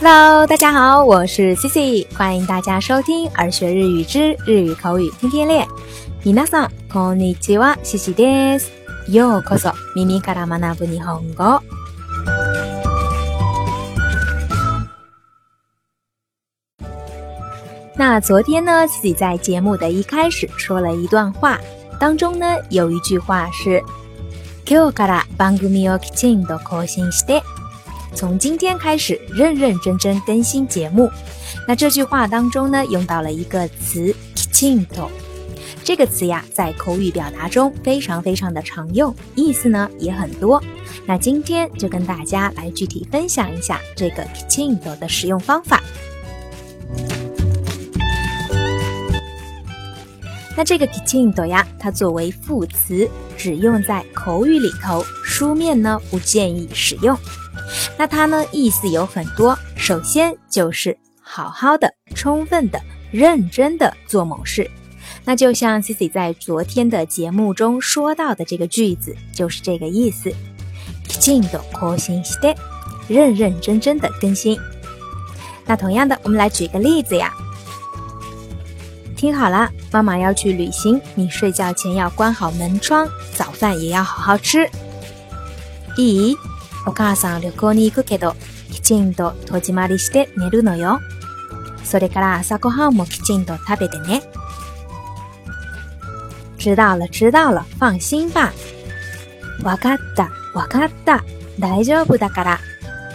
Hello， 大家好，我是 Cici， 欢迎大家收听儿学日语之日语口语天天练。皆さんこんにちは、Ciciです。ようこそ耳から学ぶ日本語。那昨天呢，自己在节目的一开始说了一段话，当中呢有一句话是今日から番組をきちんと更新して从今天开始认认真真更新节目。那这句话当中呢用到了一个词きちんと，这个词呀在口语表达中非常非常的常用，意思呢也很多。那今天就跟大家来具体分享一下这个きちんと的使用方法。那这个きちんと呀，它作为副词只用在口语里头，书面呢不建议使用。那它呢意思有很多，首先就是好好的、充分的、认真的做某事。那就像 Cici 在昨天的节目中说到的这个句子，就是这个意思。きちんと更新して，认认真真的更新。那同样的，我们来举个例子呀。听好了，妈妈要去旅行，你睡觉前要关好门窗，早饭也要好好吃。いい？お母さん旅行に行くけど、きちんと戸締まりして寝るのよ。それから朝ごはんもきちんと食べてね。知道了知道了，放心吧。わかったわかった、大丈夫だから。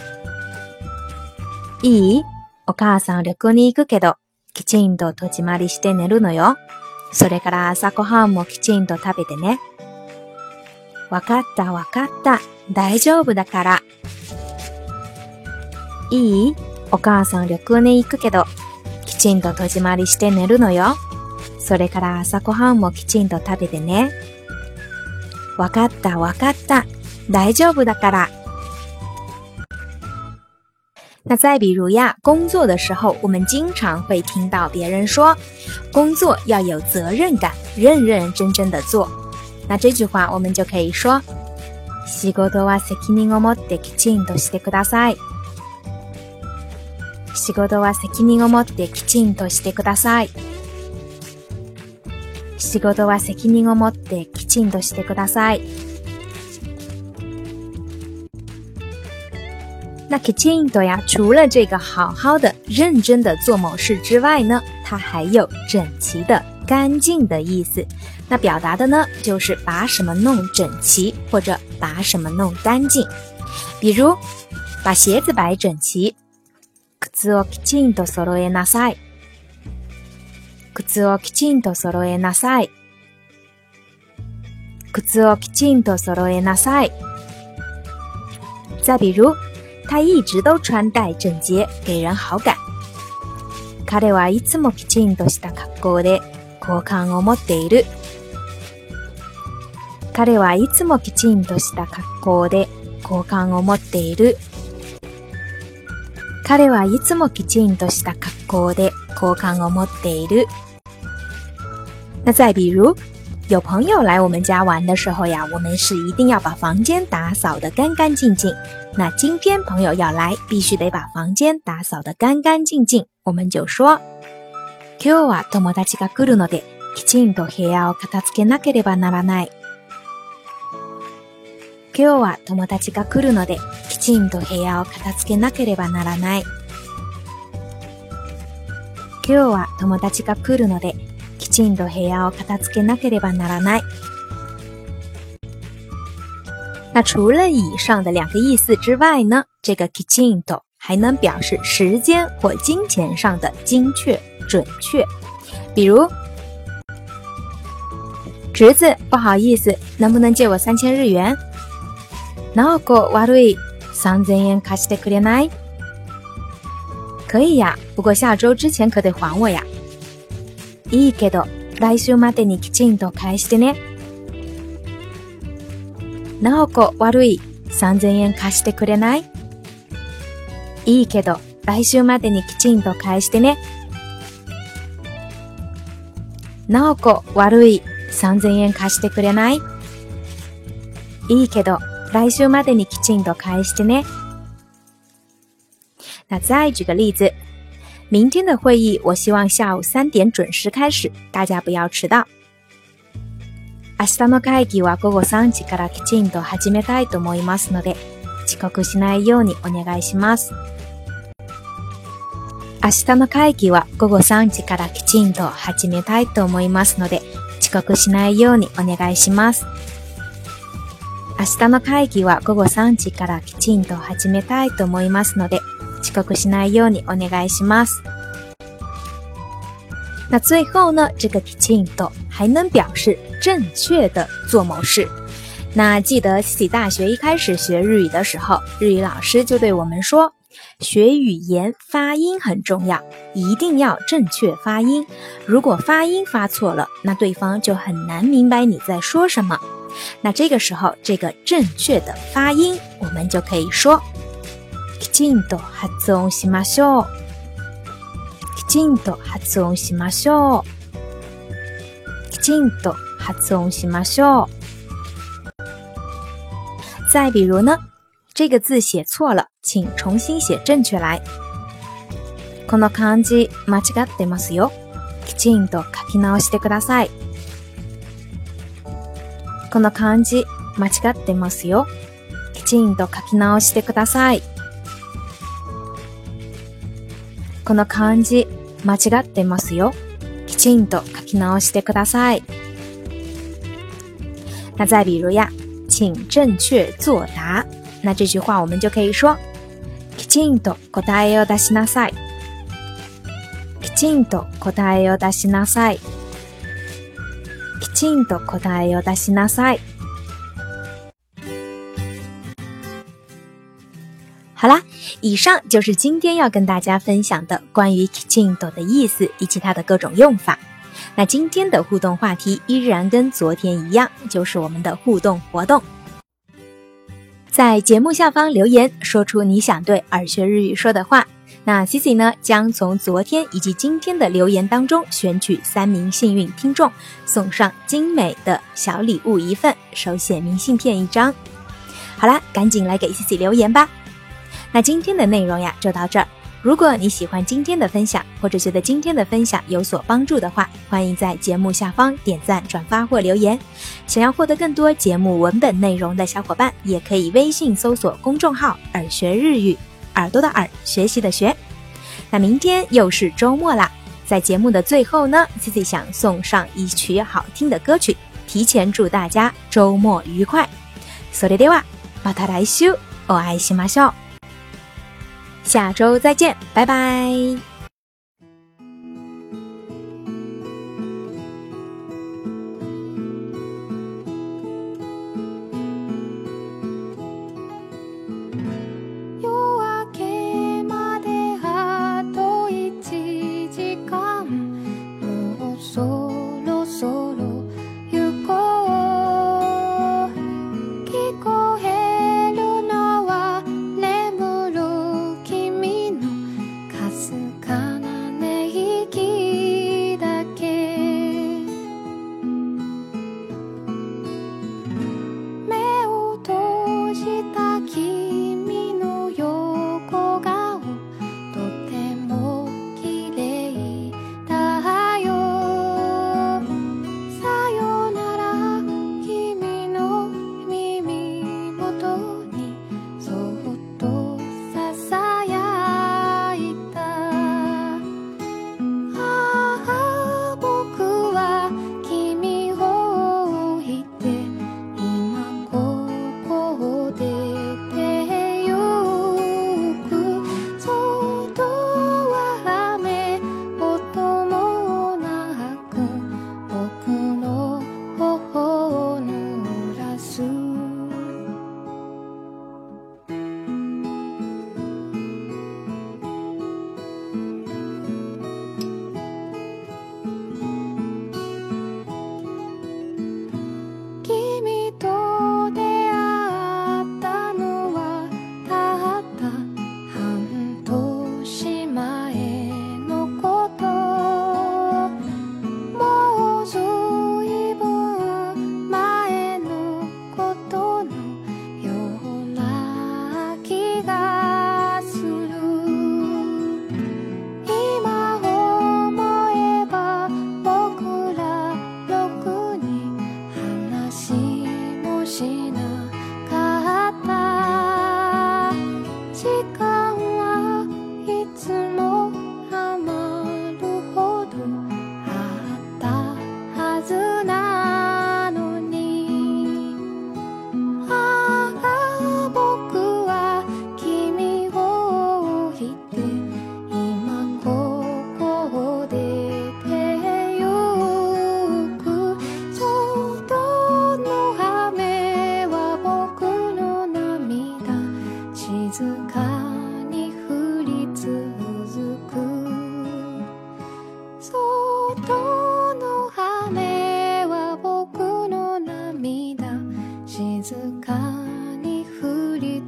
いい？お母さん旅行に行くけど、きちんと戸締まりして寝るのよ。それから朝ごはんもきちんと食べてね。わかったわかった、大丈夫だから。いい？お母さん旅行に行くけど、きちんと戸締まりして寝るのよ。それから朝ごはんもきちんと食べてね。わかったわかった、大丈夫だから。那再比如呀，工作的时候，我们经常会听到别人说，工作要有责任感，认认真真的做。那这句话我们就可以说，仕事は責任を持ってきちんとしてください。仕事は責任を持ってきちんとしてください。仕事は責任を持ってきちんとしてください。那きちんと呀，除了这个好好的、认真的做某事之外呢，它还有整齐的、干净的意思。那表达的呢，就是把什么弄整齐，或者把什么弄干净。比如，把鞋子摆整齐。靴をきちんと揃えなさい。靴をきちんと揃えなさい。靴をきちんと揃えなさい。再比如，他一直都穿戴整洁，给人好感。彼はいつもきちんとした格好で好感を持っている。彼はいつもきちんとした格好で好感を持っている。彼はいつもきちんとした格好で好感を持っている。那再比如，有朋友来我们家玩的时候呀，我们是一定要把房间打扫得干干净净。那今天朋友要来，必须得把房间打扫得干干净净。我们就说，今日は友達が来るので、きちんと部屋を片付けなければならない。今日は友達が来るので、きちんと部屋を片付けなければならない。今日は友達が来るので、きちんと部屋を片付けなければならない。那除了以上的两个意思之外呢，这个きちんと还能表示时间或金钱上的精确、准确。比如，侄子，不好意思，能不能借我3000日元？直子、悪い、3000円貸してくれない？可以呀，不过下周之前可得还我呀。いいけど、来週までにきちんと返してね。直子、悪い、3000円貸してくれない？いいけど、来週までにきちんと返してね。直子、悪い、3000円貸してくれない？いいけど、来週までにきちんと返してね。 那再举个例子，明天的会议我希望下午3点准时开始，大家不要迟到。明日の会議は午後3時からきちんと始めたいと思いますので、遅刻しないようにお願いします。明日の会議は午後3時からきちんと始めたいと思いますので、遅刻しないようにお願いします。明日の会議は午後3時からきちんと始めたいと思いますので、遅刻しないようにお願いします。那最后呢，这个きちんと还能表示正确的做某事。那记得 Cici 大学一开始学日语的时候，日语老师就对我们说，学语言发音很重要，一定要正确发音。如果发音发错了，那对方就很难明白你在说什么。那这个时候，这个正确的发音，我们就可以说きちんと発音しましょう。きちんと発音しましょう。きちんと発音しましょう。再比如呢，这个字写错了，请重新写正确来。この漢字間違ってますよ。きちんと書き直してください。この漢字間違ってますよ。きちんと書き直してください。この漢字間違ってますよ。きちんと書き直してください。那再比如呀，请正确作答。那这句话我们就可以说きちんと答えを出しなさい。きちんと答えを出しなさい。きちんと答えを出しなさい。好啦，以上就是今天要跟大家分享的关于きちんと的意思以及它的各种用法。那今天的互动话题依然跟昨天一样，就是我们的互动活动。在节目下方留言，说出你想对耳学日语说的话。那 Cici 呢，将从昨天以及今天的留言当中选取3名幸运听众，送上精美的小礼物1份，手写明信片1张。好啦，赶紧来给 Cici 留言吧。那今天的内容呀，就到这儿。如果你喜欢今天的分享，或者觉得今天的分享有所帮助的话，欢迎在节目下方点赞、转发或留言。想要获得更多节目文本内容的小伙伴，也可以微信搜索公众号“耳学日语”，耳朵的耳，学习的学。那明天又是周末啦，在节目的最后呢 ，Cici 想送上一曲好听的歌曲，提前祝大家周末愉快。それではまた来週お会いしましょう。下周再见，拜拜。 か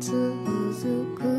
続く